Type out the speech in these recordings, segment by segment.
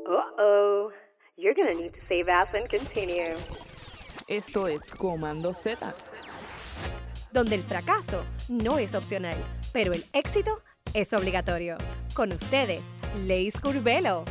Uh-oh. You're gonna need to save as and continue. Esto es Comando Z. Donde el fracaso no es opcional, pero el éxito es obligatorio. Con ustedes, Leis Curbelo.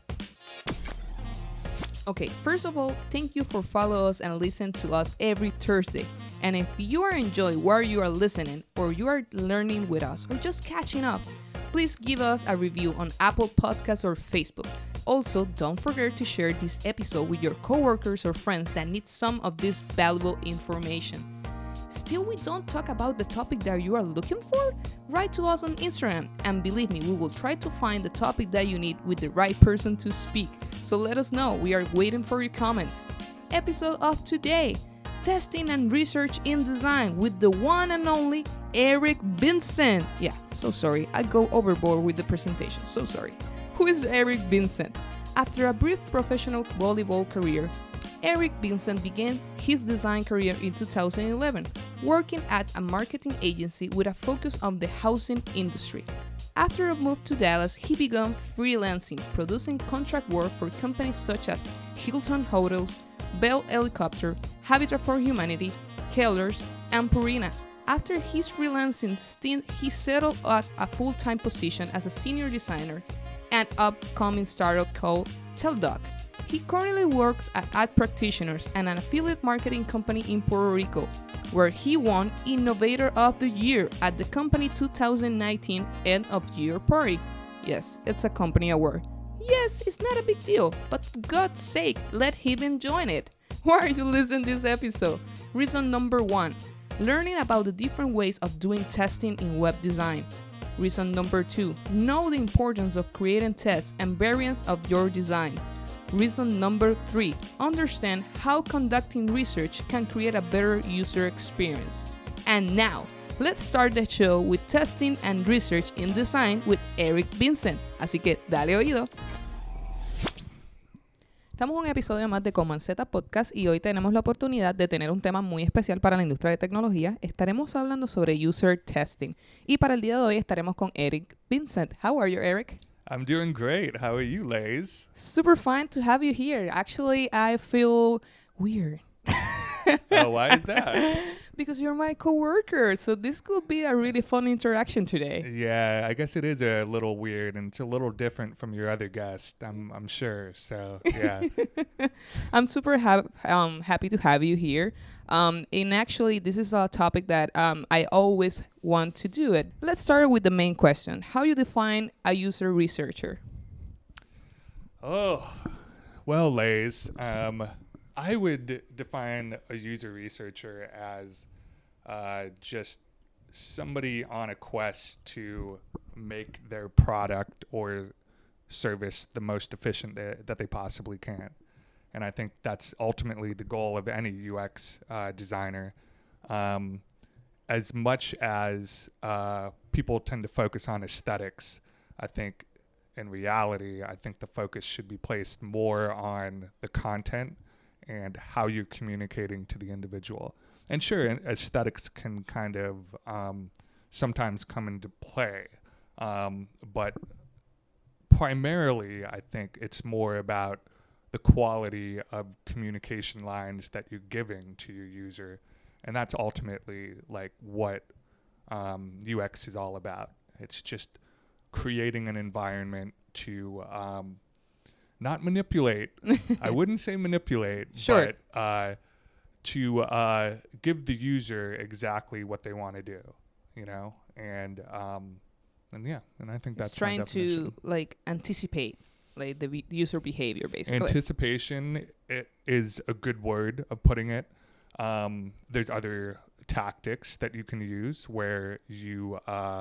Okay, first of all, thank you for following us and listen to us every Thursday. And if you are enjoying where you are listening, or you are learning with us, or just catching up, please give us a review on Apple Podcasts or Facebook. Also, don't forget to share this episode with your coworkers or friends that need some of this valuable information. Still, we don't talk about the topic that you are looking for? Write to us on Instagram, and believe me, we will try to find the topic that you need with the right person to speak. So let us know. We are waiting for your comments. Episode of today: Testing and Research in Design with the one and only Eric Vincent. Yeah, so sorry. I go overboard with the presentation. So sorry. Who is Eric Vincent? After a brief professional volleyball career, Eric Vincent began his design career in 2011, working at a marketing agency with a focus on the housing industry. After a move to Dallas, he began freelancing, producing contract work for companies such as Hilton Hotels, Bell Helicopter, Habitat for Humanity, Kellers, and Purina. After his freelancing stint, he settled at a full-time position as a senior designer at an upcoming startup called Teldoc. He currently works at Ad Practitioners and an affiliate marketing company in Puerto Rico, where he won Innovator of the Year at the company 2019 End of Year Party. Yes, it's a company award. Yes, it's not a big deal, but for God's sake, let him enjoy it. Why are you listening to this episode? Reason number 1, learning about the different ways of doing testing in web design. Reason number 2, know the importance of creating tests and variants of your designs. Reason number 3, understand how conducting research can create a better user experience. And now, let's start the show with Testing and Research in Design with Eric Vincent. Así que dale oído. Estamos en un episodio más de Command Z Podcast y hoy tenemos la oportunidad de tener un tema muy especial para la industria de tecnología. Estaremos hablando sobre user testing. Y para el día de hoy estaremos con Eric Vincent. How are you, Eric? I'm doing great. How are you, Lays? Super fun to have you here. Actually, I feel weird. Oh, why is that? Because you're my coworker, so this could be a really fun interaction today. Yeah, I guess it is a little weird and it's a little different from your other guest, I'm sure. So, yeah. I'm super happy to have you here. And actually, this is a topic that I always want to do it. Let's start with the main question. How you define a user researcher? Oh, well, Lays, I would define a user researcher as just somebody on a quest to make their product or service the most efficient that they possibly can. And I think that's ultimately the goal of any UX designer. As much as people tend to focus on aesthetics, I think in reality, I think the focus should be placed more on the content and how you're communicating to the individual. And sure, aesthetics can kind of sometimes come into play. But primarily, I think it's more about the quality of communication lines that you're giving to your user. And that's ultimately like what UX is all about. It's just creating an environment to not manipulate. I wouldn't say manipulate, sure. But to give the user exactly what they want to do, you know, and yeah, and I think it's that's trying to like anticipate like the user behavior, basically. Anticipation is a good word of putting it. There's other tactics that you can use where you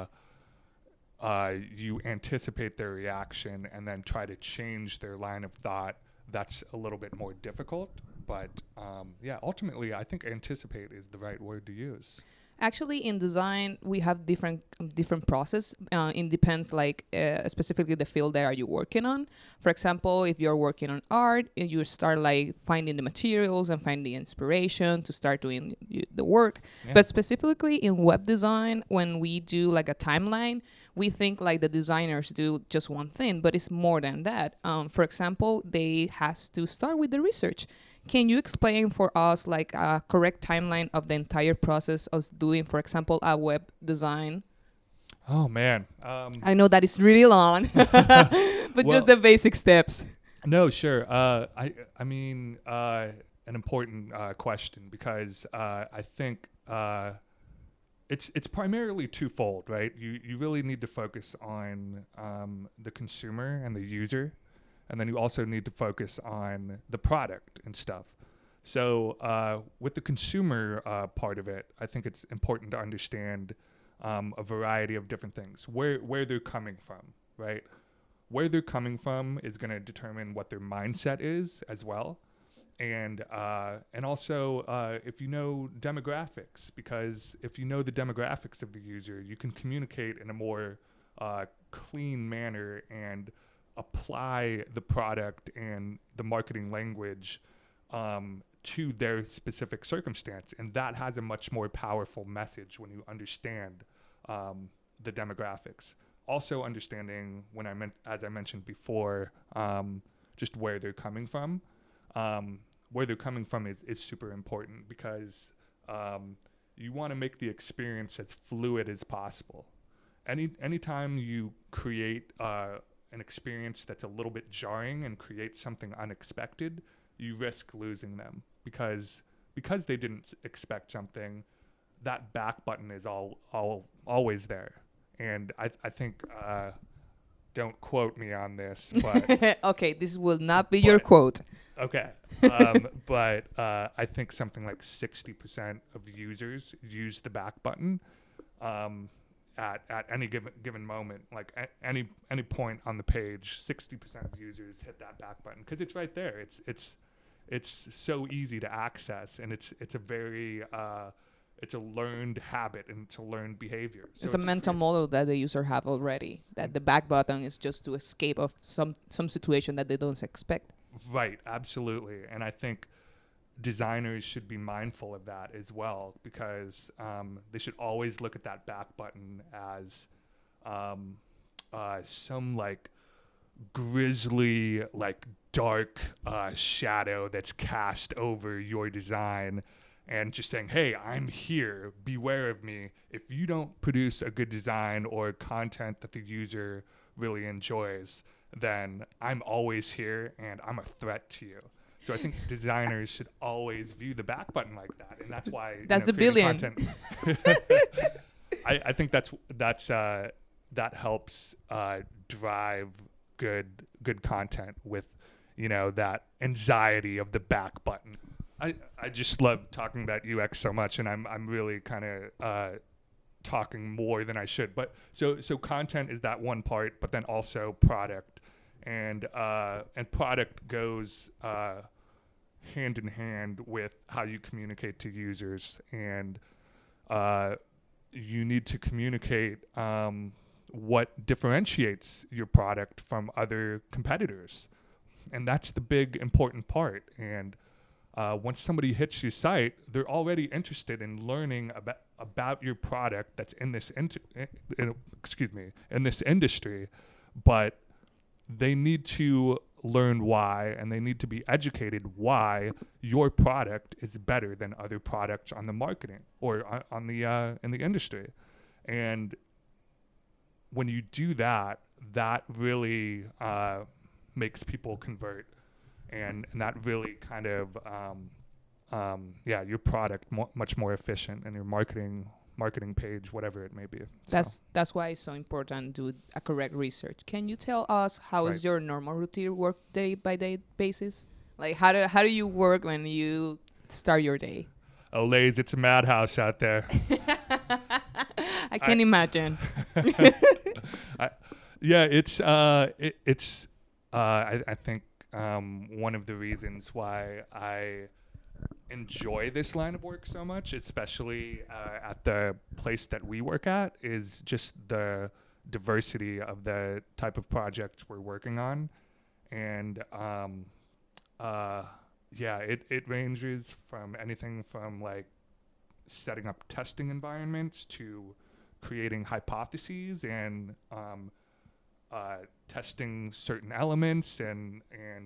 anticipate their reaction and then try to change their line of thought. That's a little bit more difficult, but yeah, ultimately, I think anticipate is the right word to use. Actually, in design, we have different process. It depends, like specifically the field that are you working on. For example, if you're working on art, you start like finding the materials and finding the inspiration to start doing the work. Yeah. But specifically in web design, when we do like a timeline, we think like the designers do just one thing, but it's more than that. For example, they has to start with the research. Can you explain for us like a correct timeline of the entire process of doing, for example, a web design? Oh man. I know that it's really long, but Well- just the basic steps. No, sure. I mean, an important question because I think it's primarily twofold, right? You really need to focus on the consumer and the user, and then you also need to focus on the product and stuff. So with the consumer part of it, I think it's important to understand a variety of different things, where they're coming from, right? Where they're coming from is going to determine what their mindset is as well. And also if you know demographics, because if you know the demographics of the user, you can communicate in a more clean manner and apply the product and the marketing language to their specific circumstance. And that has a much more powerful message when you understand the demographics. Also understanding, as I mentioned before, just where they're coming from. Where they're coming from is super important because you want to make the experience as fluid as possible. Anytime you create an experience that's a little bit jarring and create something unexpected, you risk losing them because they didn't expect something. That back button is always there, and I think don't quote me on this, but Okay, this will not be your quote. okay. But I think something like 60% of users use the back button at any given moment. Like at any point on the page, 60% of users hit that back button because it's right there. It's so easy to access, and it's a very it's a learned habit and it's a learned behavior. So It's a mental model that the user have already, that the back button is just to escape of some situation that they don't expect. Right, absolutely. And I think designers should be mindful of that as well, because they should always look at that back button as some like grisly, like dark shadow that's cast over your design, and just saying, hey, I'm here, beware of me. If you don't produce a good design or content that the user really enjoys, then I'm always here and I'm a threat to you. So I think designers should always view the back button like that, and that's why That's the creating billion. content- I think that helps drive good content with that anxiety of the back button. I just love talking about UX so much, and I'm really kind of talking more than I should. But so content is that one part, but then also product, and product goes hand in hand with how you communicate to users, and you need to communicate what differentiates your product from other competitors, and that's the big important part. And once somebody hits your site, they're already interested in learning about your product that's in this in this industry, but they need to learn why, and they need to be educated why your product is better than other products on the marketing or on the in the industry. And when you do that, that really makes people convert. And that really kind of, your product much more efficient, and your marketing page, whatever it may be. That's why it's so important to do a correct research. Can you tell us how is your normal routine work day by day basis? Like how do you work when you start your day? Oh, Lays, it's a madhouse out there. I can imagine. I think one of the reasons why I enjoy this line of work so much, especially at the place that we work at, is just the diversity of the type of project we're working on. And it ranges from anything from like setting up testing environments to creating hypotheses and testing certain elements and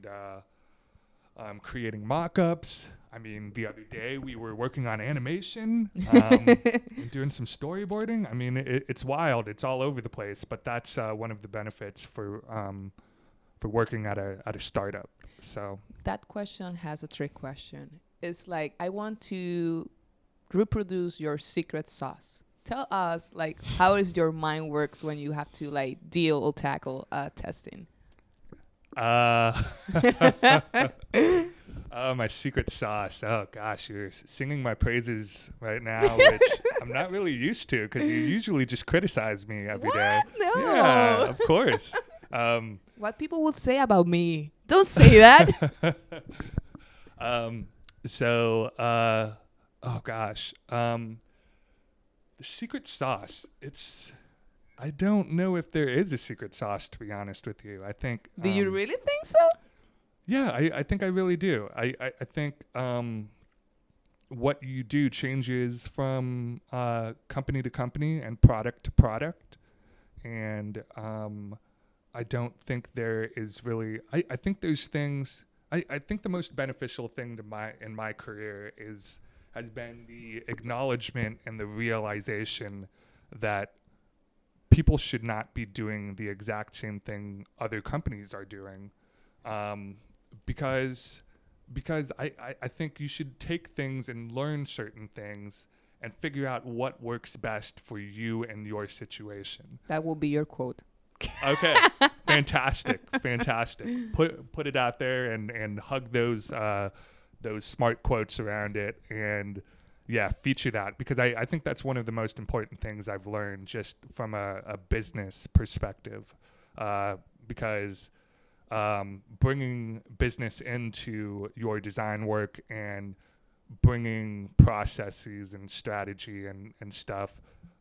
creating mock-ups. I mean, the other day we were working on animation and doing some storyboarding. I mean, it's wild. It's all over the place. But that's one of the benefits for working at a startup. So that question has a trick question. It's like, I want to reproduce your secret sauce. Tell us, like, how is your mind works when you have to like deal or tackle testing? My secret sauce. Oh gosh, you're singing my praises right now, which I'm not really used to because you usually just criticize me every day. No. Yeah, of course. What people would say about me? Don't say that. Oh gosh. The secret sauce. I don't know if there is a secret sauce, to be honest with you. I think. Do you really think so? Yeah, I think I really do. I think what you do changes from company to company and product to product. And I don't think there is really... I think there's things... I think the most beneficial thing in my career has been the acknowledgement and the realization that people should not be doing the exact same thing other companies are doing. Because I think you should take things and learn certain things and figure out what works best for you and your situation. That will be your quote. Okay. Fantastic. Put it out there and hug those smart quotes around it and feature that, because I think that's one of the most important things I've learned just from a business perspective, because bringing business into your design work and bringing processes and strategy and stuff,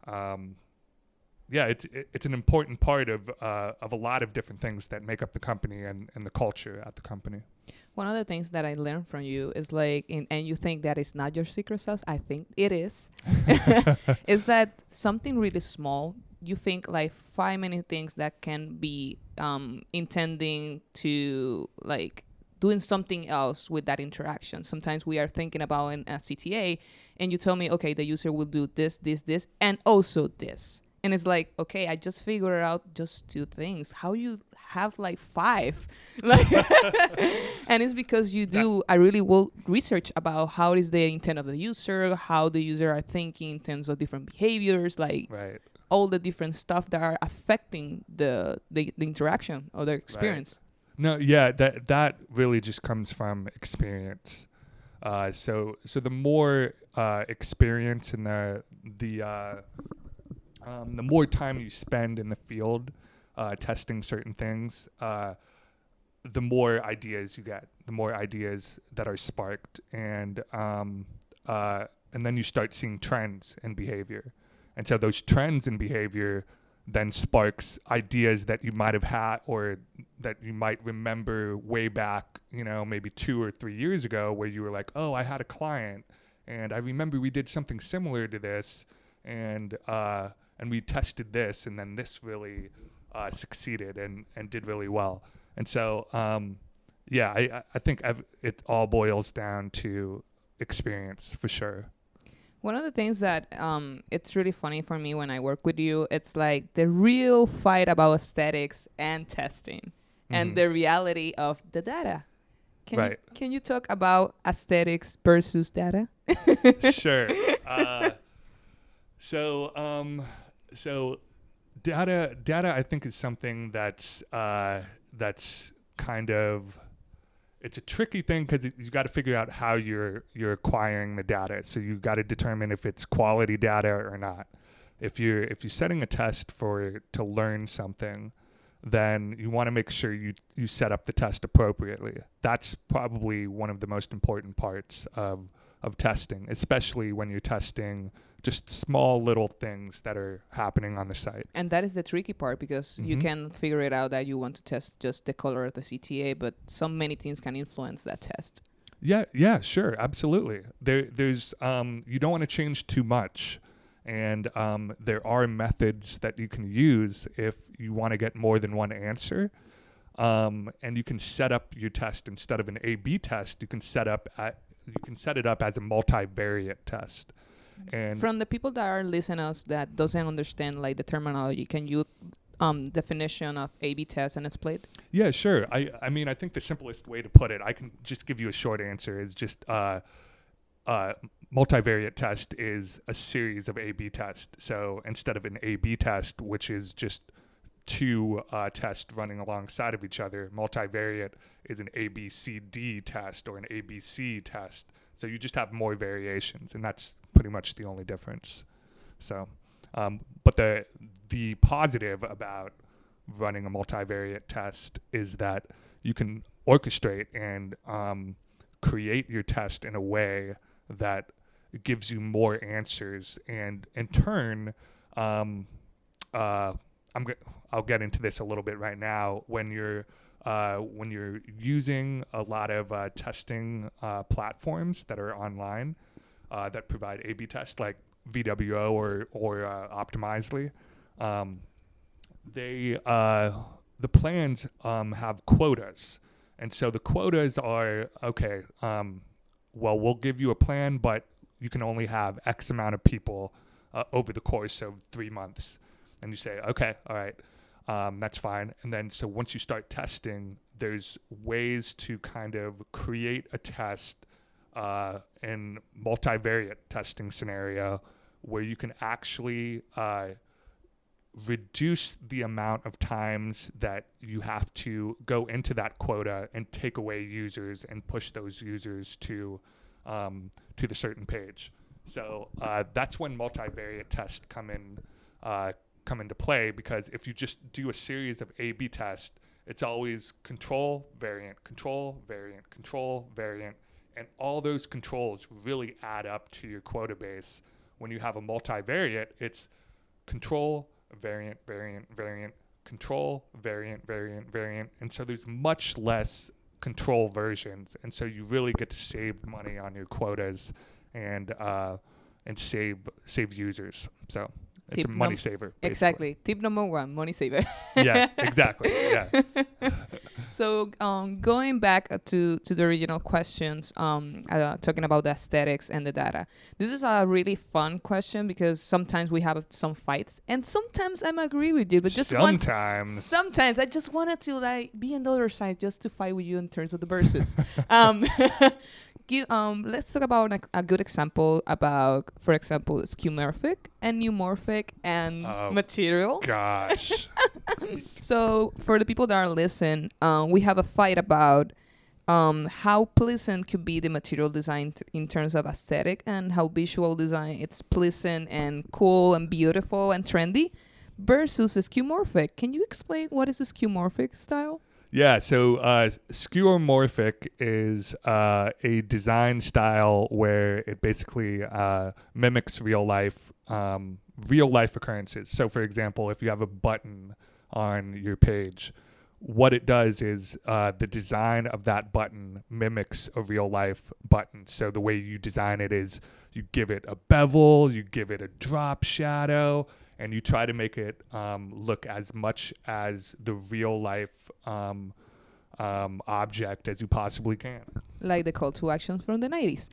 it's an important part of a lot of different things that make up the company and the culture at the company. One of the things that I learned from you is like, and you think that it's not your secret sauce, I think it is, is that something really small, you think like 5 many things that can be intending to like doing something else with that interaction. Sometimes we are thinking about a CTA and you tell me, okay, the user will do this, and also this. And it's like, okay, I just figured out just 2 things. How you have like 5? Like, and it's because you do a really well research about how is the intent of the user, how the user are thinking in terms of different behaviors, like all the different stuff that are affecting the interaction or the experience. Right. No, yeah, that really just comes from experience. So the more experience and the more time you spend in the field testing certain things, the more ideas you get, the more ideas that are sparked, and then you start seeing trends in behavior. And so those trends in behavior then sparks ideas that you might have had or that you might remember way back, maybe 2 or 3 years ago, where you were like, oh, I had a client and I remember we did something similar to this, and we tested this, and then this really succeeded and did really well. And so, I think it all boils down to experience for sure. One of the things that it's really funny for me when I work with you, it's like the real fight about aesthetics and testing and the reality of the data. Can you talk about aesthetics versus data? Sure. So data I think is something that's kind of, it's a tricky thing because you got to figure out how you're acquiring the data. So you got to determine if it's quality data or not. If you're setting a test to learn something, then you want to make sure you set up the test appropriately. That's probably one of the most important parts of of testing, especially when you're testing just small little things that are happening on the site. And that is the tricky part, because you can figure it out that you want to test just the color of the CTA, but so many things can influence that test. Yeah, sure, absolutely. There's you don't want to change too much, and there are methods that you can use if you want to get more than one answer. And you can set up your test instead of an A/B test. You can set it up as a multivariate test. And from the people that are listening us that doesn't understand like the terminology, can you definition of A/B test and split? Yeah, sure. I mean, I think the simplest way to put it, I can just give you a short answer, is just multivariate test is a series of A/B tests. So instead of an A/B test, which is just two tests running alongside of each other, multivariate is an ABCD test or an ABC test. So you just have more variations, and that's pretty much the only difference. So, but the positive about running a multivariate test is that you can orchestrate and create your test in a way that gives you more answers, and in turn, I'll get into this a little bit right now. When you're using a lot of testing platforms that are online that provide A/B tests, like VWO or Optimizely, the plans have quotas, and so the quotas are okay. Well, we'll give you a plan, but you can only have X amount of people over the course of 3 months. And you say, okay, all right, that's fine. And then so once you start testing, there's ways to kind of create a test in multivariate testing scenario where you can actually reduce the amount of times that you have to go into that quota and take away users and push those users to the certain page. So that's when multivariate tests come into play, because if you just do a series of A/B tests, it's always control, variant, control, variant, control, variant, and all those controls really add up to your quota base. When you have a multivariate, it's control, variant, variant, variant, control, variant, variant, variant, and so there's much less control versions, and so you really get to save money on your quotas and save users. So it's a money saver. Basically. Exactly. Tip number 1, money saver. Yeah, exactly. Yeah. So going back to the original questions, talking about the aesthetics and the data. This is a really fun question because sometimes we have some fights, and sometimes I agree with you, but just sometimes I just wanted to like be on the other side just to fight with you in terms of the verses. Let's talk about a good example about, for example, skeuomorphic and neumorphic and material. Gosh. So for the people that are listening, we have a fight about how pleasant could be the material design in terms of aesthetic, and how visual design it's pleasant and cool and beautiful and trendy versus skeuomorphic. Can you explain what is a skeuomorphic style? Yeah, so skeuomorphic is a design style where it basically mimics real life occurrences. So, for example, if you have a button on your page, what it does is the design of that button mimics a real life button. So the way you design it is you give it a bevel, you give it a drop shadow, and you try to make it look as much as the real life object as you possibly can. Like the call to actions from the 90s.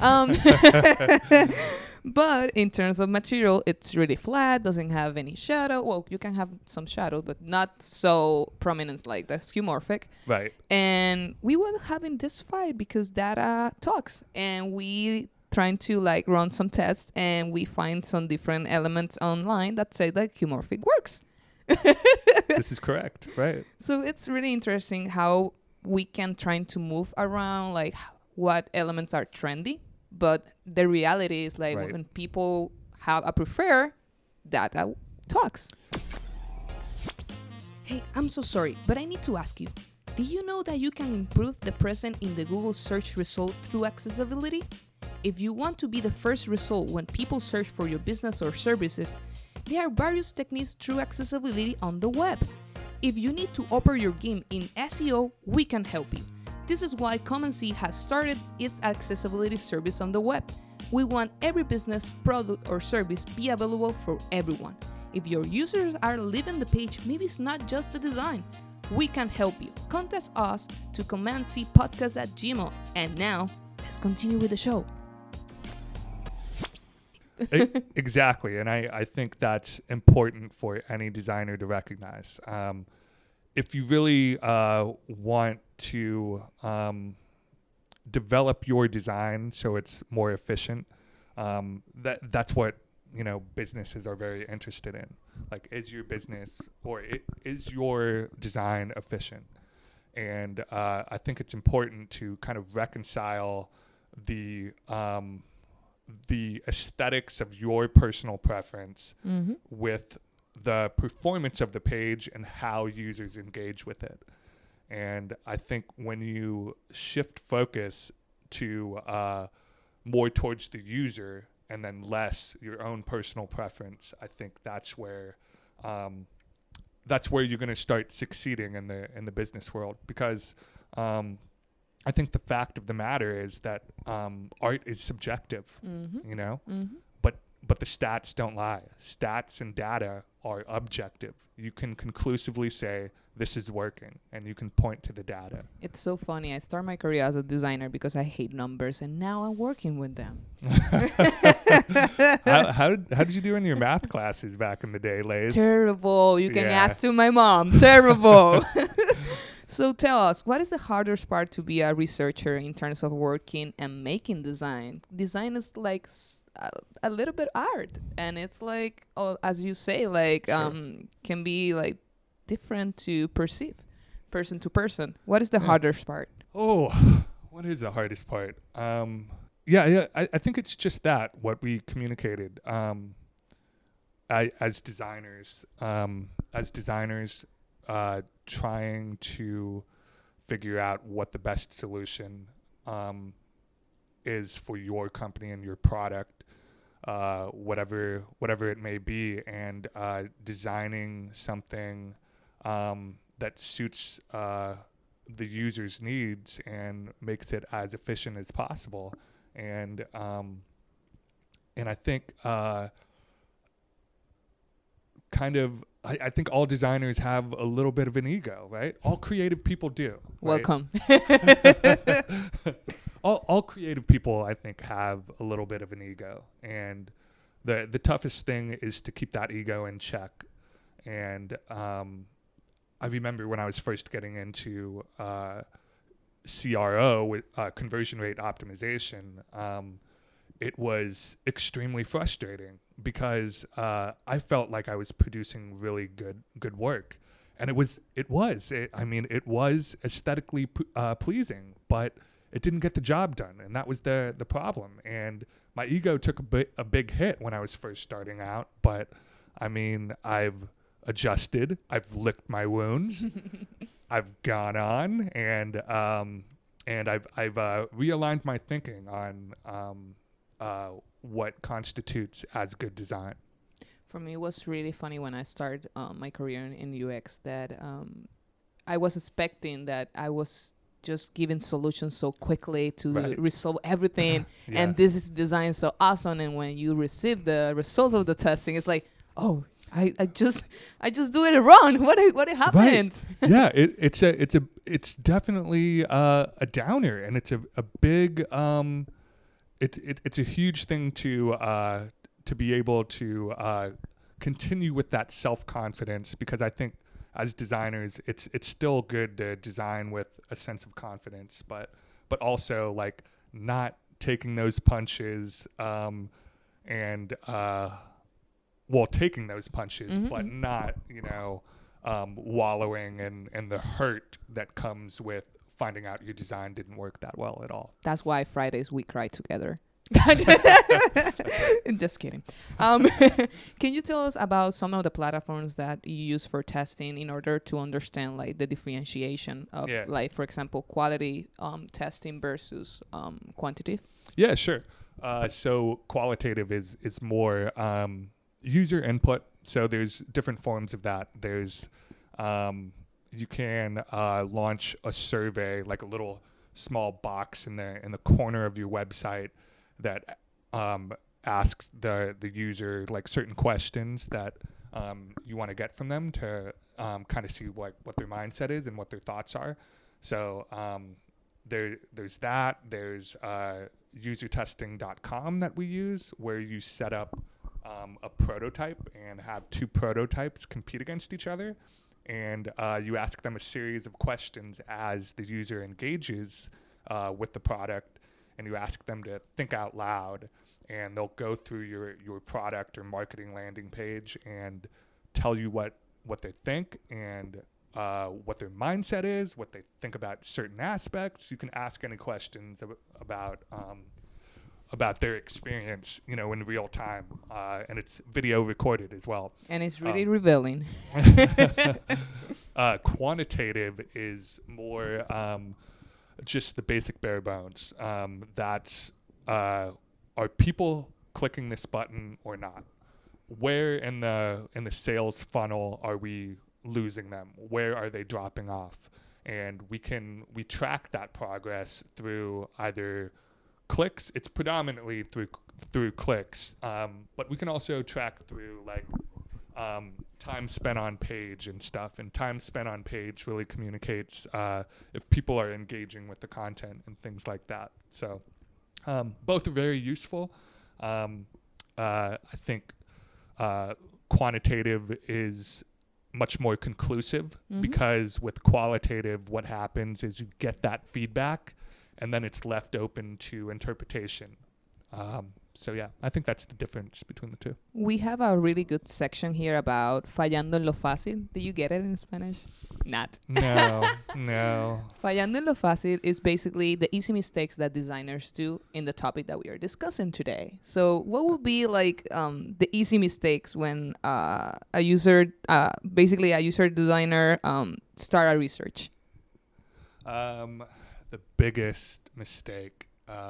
But in terms of material, it's really flat, doesn't have any shadow. Well, you can have some shadow, but not so prominent like the skeuomorphic. Right. And we were having this fight because data talks, and we trying to like run some tests, and we find some different elements online that say that skeuomorphic works. This is correct, right? So it's really interesting how we can try to move around like what elements are trendy, but the reality is like when people have a prefer, data talks. Hey, I'm so sorry, but I need to ask you, did you know that you can improve the present in the Google search result through accessibility? If you want to be the first result when people search for your business or services, there are various techniques through accessibility on the web. If you need to upper your game in SEO, we can help you. This is why Commonsea has started its accessibility service on the web. We want every business, product, or service be available for everyone. If your users are leaving the page, maybe it's not just the design. We can help you. Contact us to commandcpodcast@gmail. And now, let's continue with the show. Exactly, and I think that's important for any designer to recognize. If you really want to develop your design so it's more efficient, that's what businesses are very interested in. Like, is your business is your design efficient? And I think it's important to kind of reconcile the aesthetics of your personal preference with the performance of the page and how users engage with it. And I think when you shift focus to more towards the user and then less your own personal preference, I think that's where you're going to start succeeding in the business world. Because I think the fact of the matter is that art is subjective, but the stats don't lie. Stats and data are objective. You can conclusively say this is working, and you can point to the data. It's so funny. I started my career as a designer because I hate numbers, and now I'm working with them. How did you do in your math classes back in the day, Lays? Terrible. You can ask to my mom. Terrible. So tell us, what is the hardest part to be a researcher in terms of working and making design? Design is like a little bit art, and it's like, as you say, like can be like different to perceive, person to person. What is the hardest part? Oh, what is the hardest part? I think it's just that, what we communicated. As designers, trying to figure out what the best solution is for your company and your product, whatever it may be, and designing something that suits the user's needs and makes it as efficient as possible. And I think I think all designers have a little bit of an ego, right? All creative people do. Welcome. Right? all creative people, I think, have a little bit of an ego. And the toughest thing is to keep that ego in check. And I remember when I was first getting into CRO, with conversion rate optimization, it was extremely frustrating because I felt like I was producing really good work, and it was aesthetically pleasing, but it didn't get the job done, and that was the problem. And my ego took a big hit when I was first starting out, but I mean, I've adjusted, I've licked my wounds, I've gone on, and I've realigned my thinking on what constitutes as good design. For me, it was really funny when I started my career in UX that I was expecting that I was just giving solutions so quickly to resolve everything. And this is design so awesome. And when you receive the results of the testing, it's like, oh, I just do it wrong. What happened? Right. Yeah, it's definitely a downer, and it's a big it's a huge thing to be able to continue with that self-confidence, because I think as designers, it's still good to design with a sense of confidence, but also like not taking those punches taking those punches, but not wallowing in the hurt that comes with finding out your design didn't work that well at all. That's why Fridays we cry together. Just kidding. Can you tell us about some of the platforms that you use for testing in order to understand like the differentiation of like, for example, quality testing versus quantitative? Yeah, sure. So qualitative is more user input. So there's different forms of that. There's you can launch a survey, like a little small box in the corner of your website that asks the user like certain questions that you want to get from them to kind of see what their mindset is and what their thoughts are. So there's that. There's usertesting.com that we use, where you set up a prototype and have two prototypes compete against each other. And you ask them a series of questions as the user engages with the product, and you ask them to think out loud, and they'll go through your product or marketing landing page and tell you what they think and what their mindset is, what they think about certain aspects. You can ask any questions about their experience, in real time, and it's video recorded as well. And it's really revealing. Quantitative is more just the basic bare bones. That's are people clicking this button or not? Where in the sales funnel are we losing them? Where are they dropping off? And we track that progress through either clicks. It's predominantly through clicks, but we can also track through like time spent on page and stuff. And time spent on page really communicates if people are engaging with the content and things like that. So both are very useful. I think quantitative is much more conclusive, because with qualitative, what happens is you get that feedback and then it's left open to interpretation. So yeah, I think that's the difference between the two. We have a really good section here about fallando en lo fácil. Do you get it in Spanish? Not. No. Fallando en lo fácil is basically the easy mistakes that designers do in the topic that we are discussing today. So what would be like the easy mistakes when a user designer start a research? The biggest mistake,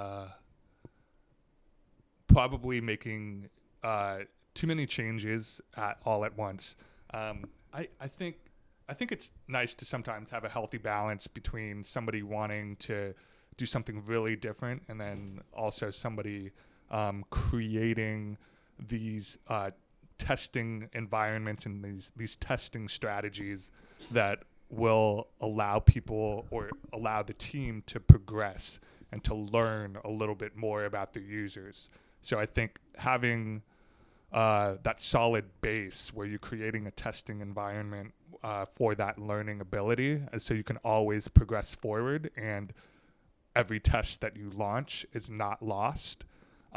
probably making too many changes all at once. I think it's nice to sometimes have a healthy balance between somebody wanting to do something really different and then also somebody creating these testing environments and these testing strategies that will allow people or allow the team to progress and to learn a little bit more about their users. So I think having that solid base where you're creating a testing environment for that learning ability, so you can always progress forward and every test that you launch is not lost.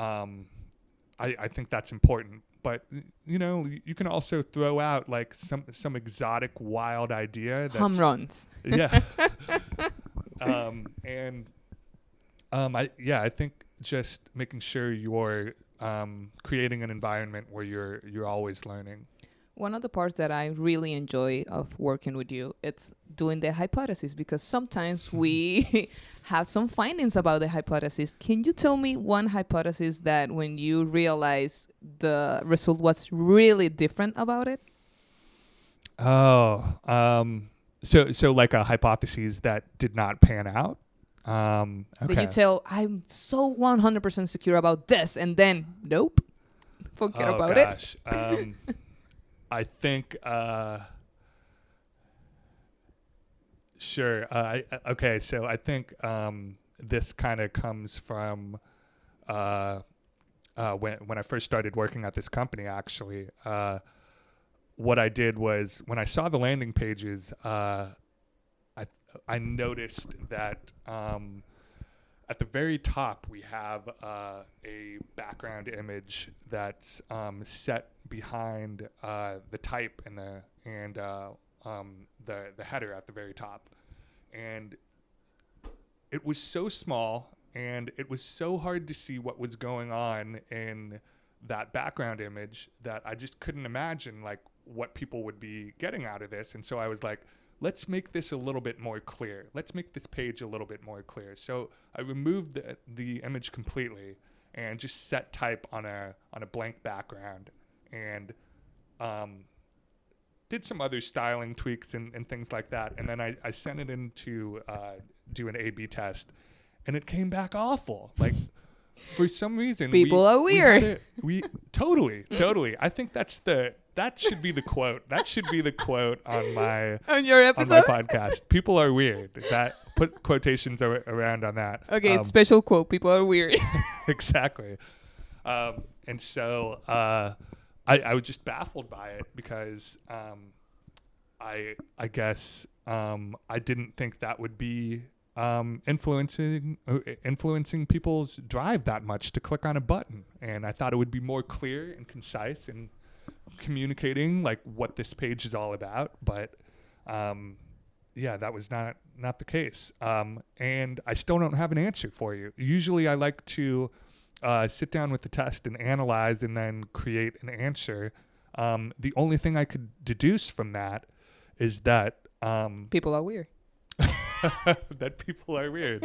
I think that's important. But, you can also throw out like some exotic, wild idea. That's, home runs. Yeah. I think just making sure you're creating an environment where you're always learning. One of the parts that I really enjoy of working with you, it's doing the hypothesis, because sometimes we have some findings about the hypothesis. Can you tell me one hypothesis that when you realize the result was really different about it? So like a hypothesis that did not pan out? Okay. That you tell, I'm so 100% secure about this, and then, nope, forget about it. I think, sure. Okay, so I think this kind of comes from when I first started working at this company, actually. What I did was, when I saw the landing pages, I noticed that at the very top we have a background image that's set behind the type and the header at the very top, and it was so small and it was so hard to see what was going on in that background image that I just couldn't imagine like what people would be getting out of this. And so I was like, let's make this a little bit more clear. Let's make this page a little bit more clear. So I removed the image completely and just set type on a blank background, and did some other styling tweaks and things like that. And then I sent it in to do an A/B test, and it came back awful. Like, for some reason, People are weird. We totally. I think that should be the quote. That should be the quote on my On your episode? podcast. People are weird. That put quotations around on that. Okay, it's special quote. People are weird. Exactly. And so I was just baffled by it because I guess I didn't think that would be influencing people's drive that much to click on a button, and I thought it would be more clear and concise and communicating like what this page is all about. But that was not the case, and I still don't have an answer for you. Usually I like to sit down with the test and analyze and then create an answer. The only thing I could deduce from that is that People are weird. that people are weird.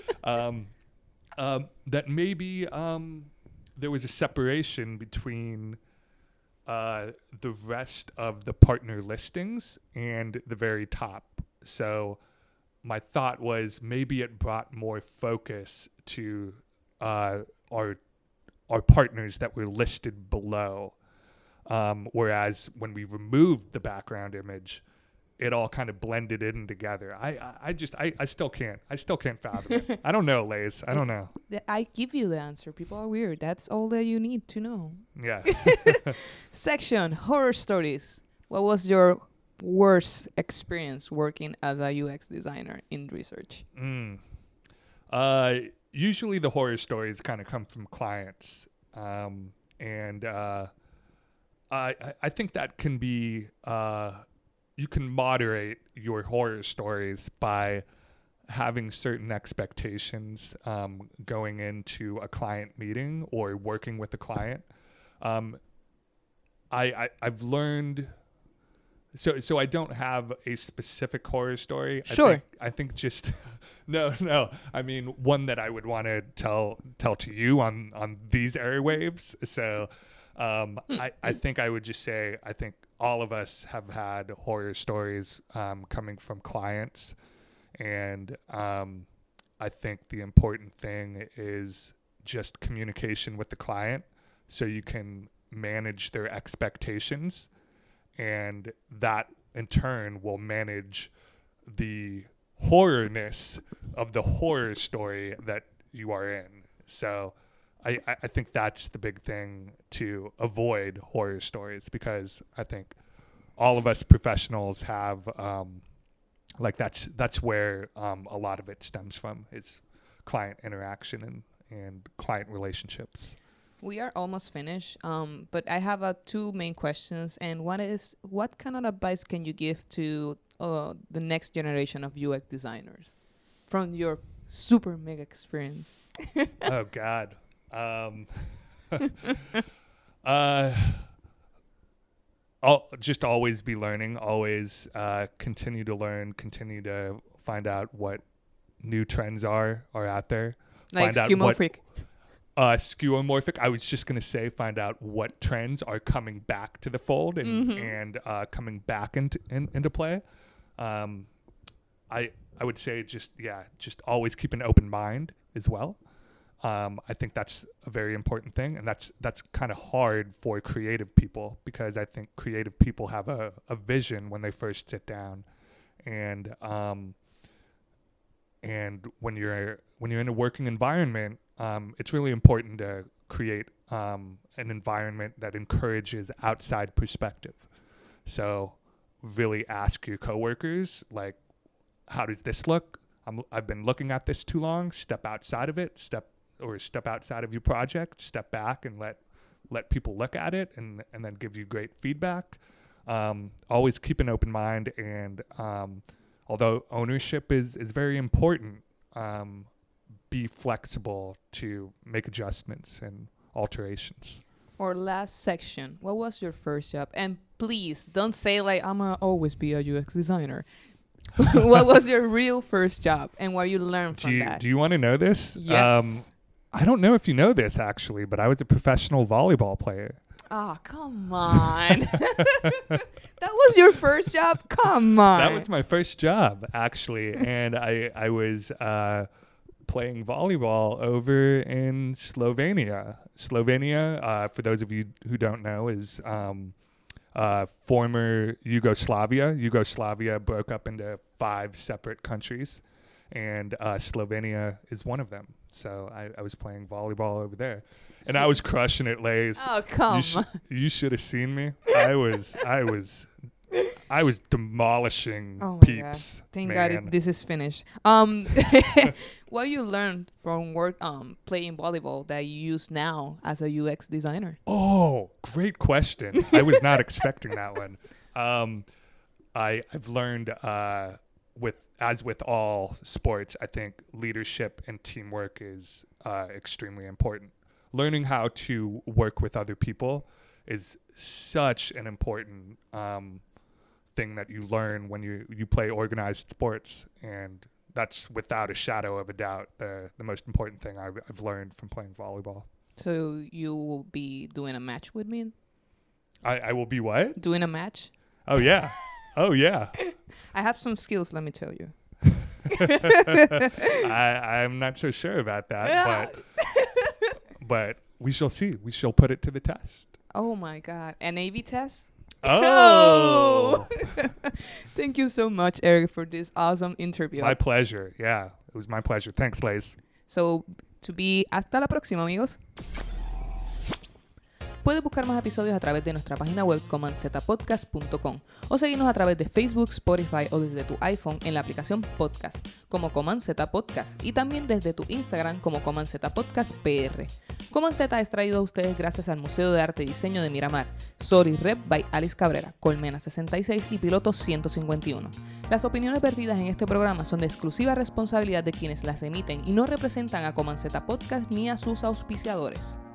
That maybe there was a separation between the rest of the partner listings and the very top. So my thought was maybe it brought more focus to our partners that were listed below. Whereas when we removed the background image, it all kind of blended in together. I still can't fathom it. I don't know, Lays. I don't know. I give you the answer. People are weird. That's all that you need to know. Yeah. Section, horror stories. What was your worst experience working as a UX designer in research? Usually the horror stories kind of come from clients. And I think that can be... you can moderate your horror stories by having certain expectations going into a client meeting or working with a client. I've learned... So I don't have a specific horror story. Sure. I think just... No. I mean, one that I would want to tell to you on these airwaves. So I think I would just say, I think all of us have had horror stories coming from clients. And I think the important thing is just communication with the client so you can manage their expectations. And that, in turn, will manage the horrorness of the horror story that you are in. So I think that's the big thing to avoid horror stories, because I think all of us professionals have that's where a lot of it stems from, is client interaction and client relationships. We are almost finished, but I have two main questions. And one is, what kind of advice can you give to the next generation of UX designers from your super mega experience? Oh, God. I'll just always be learning, always continue to learn, continue to find out what new trends are out there. Like skeuomorphic. Skeuomorphic. I was just going to say, find out what trends are coming back to the fold and coming back into play. I would say just always keep an open mind as well. I think that's a very important thing, and that's kind of hard for creative people, because I think creative people have a vision when they first sit down, and when you're in a working environment, it's really important to create an environment that encourages outside perspective. So really ask your coworkers, like, how does this look? I've been looking at this too long. Step outside of it. Step outside of your project. Step back and let people look at it and then give you great feedback. Always keep an open mind, and although ownership is very important, be flexible to make adjustments and alterations. Or last section, what was your first job? And please don't say like, I'ma always be a UX designer. What was your real first job and what you learned from that? Do you want to know this? Yes. I don't know if you know this actually, but I was a professional volleyball player. Oh, come on. That was your first job? Come on. That was my first job, actually. And I was playing volleyball over in Slovenia. Slovenia, for those of you who don't know, is former Yugoslavia. Yugoslavia broke up into 5 separate countries, and Slovenia is one of them. So I was playing volleyball over there. And I was crushing it, Lays. Oh, come on. You should have seen me. I was demolishing Oh my peeps. God. Thank man. God this is finished. What you learned from work playing volleyball that you use now as a UX designer? Oh, great question. I was not expecting that one. I've learned with all sports, I think leadership and teamwork is extremely important. Learning how to work with other people is such an important thing that you learn when you play organized sports, and that's without a shadow of a doubt the most important thing I've learned from playing volleyball. So you will be doing a match with me? I will be what? Doing a match? Oh yeah. Oh yeah. I have some skills, let me tell you. I'm not so sure about that, but we shall see. We shall put it to the test. Oh my God. An AV test? Oh. Thank you so much, Eric, for this awesome interview. My pleasure. Yeah, it was my pleasure. Thanks, Lays. So, hasta la próxima, amigos. Puedes buscar más episodios a través de nuestra página web comanzetapodcast.com o seguirnos a través de Facebook, Spotify o desde tu iPhone en la aplicación Podcast como Command Z Podcast y también desde tu Instagram como Command Z Podcast PR. Command Z es traído a ustedes gracias al Museo de Arte y Diseño de Miramar, Sorry Rep by Alice Cabrera, Colmena 66 y Piloto 151. Las opiniones vertidas en este programa son de exclusiva responsabilidad de quienes las emiten y no representan a Command Z Podcast ni a sus auspiciadores.